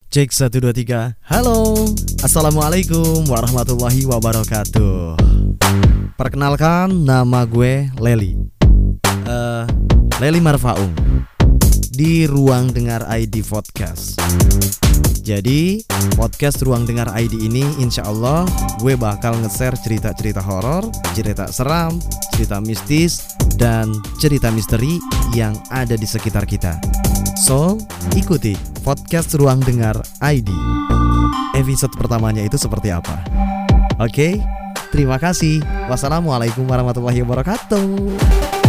Cek 1, 2, 3. Halo, Assalamualaikum warahmatullahi wabarakatuh. Perkenalkan, nama gue Leli Leli Marfaung di Ruang Dengar ID Podcast. Jadi, podcast Ruang Dengar ID ini insya Allah gue bakal nge-share cerita-cerita horor, cerita seram, cerita mistis, dan cerita misteri yang ada di sekitar kita. So, ikuti podcast Ruang Dengar ID. Episode pertamanya itu seperti apa? Oke, terima kasih. Wassalamualaikum warahmatullahi wabarakatuh.